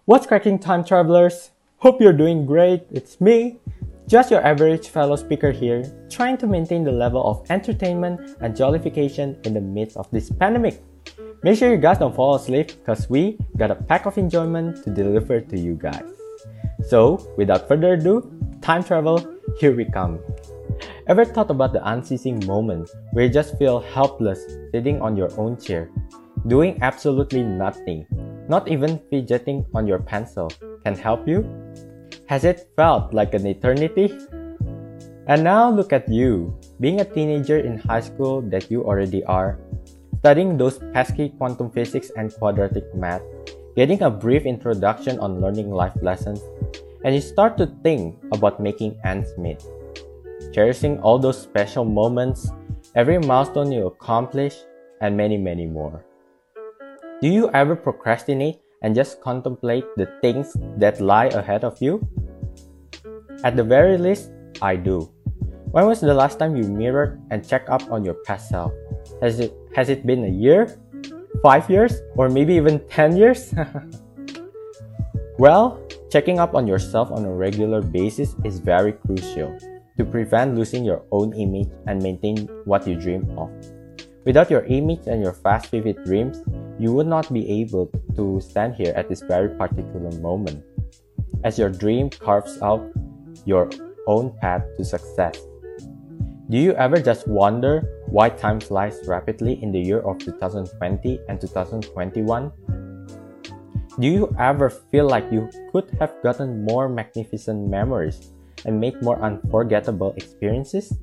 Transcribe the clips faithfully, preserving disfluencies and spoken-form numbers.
What's cracking, time travelers? Hope you're doing great. It's me, just your average fellow speaker here, trying to maintain the level of entertainment and jollification in the midst of this pandemic. Make sure you guys don't fall asleep because we got a pack of enjoyment to deliver to you guys. So, without further ado, time travel, here we come. Ever thought about the unceasing moments where you just feel helpless sitting on your own chair, doing absolutely nothing, not even fidgeting on your pencil can help you? Has it felt like an eternity? And now look at you, being a teenager in high school that you already are, studying those pesky quantum physics and quadratic math, getting a brief introduction on learning life lessons, and you start to think about making ends meet, cherishing all those special moments, every milestone you accomplish, and many, many more. Do you ever procrastinate and just contemplate the things that lie ahead of you? At the very least, I do. When was the last time you mirrored and checked up on your past self? Has it, has it been a year? Five years? Or maybe even ten years? Well, checking up on yourself on a regular basis is very crucial to prevent losing your own image and maintain what you dream of. Without your image and your fast vivid dreams, you would not be able to stand here at this very particular moment, as your dream carves out your own path to success. Do you ever just wonder why time flies rapidly in the year of two thousand twenty and two thousand twenty-one? Do you ever feel like you could have gotten more magnificent memories and made more unforgettable experiences?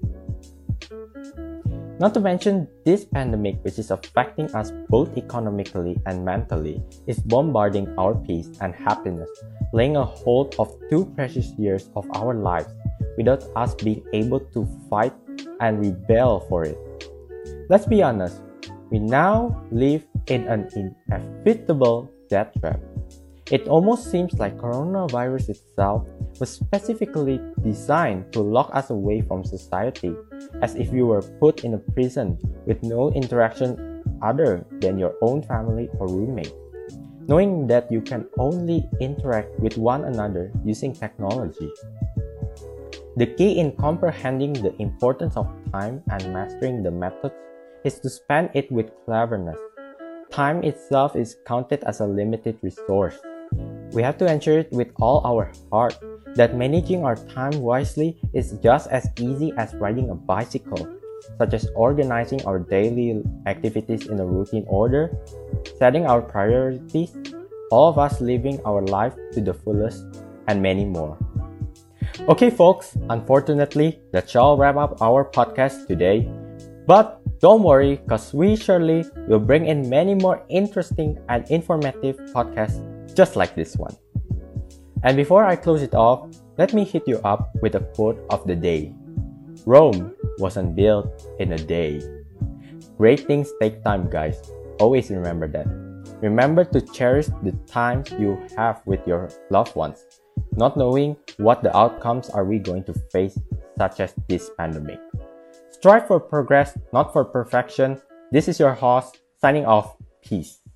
Not to mention, this pandemic, which is affecting us both economically and mentally, is bombarding our peace and happiness, laying a hold of two precious years of our lives without us being able to fight and rebel for it. Let's be honest, we now live in an inevitable death trap. It almost seems like coronavirus itself was specifically designed to lock us away from society, as if you were put in a prison with no interaction other than your own family or roommate, knowing that you can only interact with one another using technology. The key in comprehending the importance of time and mastering the methods is to spend it with cleverness. Time itself is counted as a limited resource. We have to ensure it with all our heart that managing our time wisely is just as easy as riding a bicycle, such as organizing our daily activities in a routine order, setting our priorities, all of us living our life to the fullest, and many more. Okay folks, unfortunately, that shall wrap up our podcast today. But don't worry, cause we surely will bring in many more interesting and informative podcasts just like this one. And before I close it off, let me hit you up with a quote of the day. Rome wasn't built in a day. Great things take time, guys. Always remember that. Remember to cherish the times you have with your loved ones, not knowing what the outcomes are we going to face, such as this pandemic. Strive for progress, not for perfection. This is your host, signing off. Peace.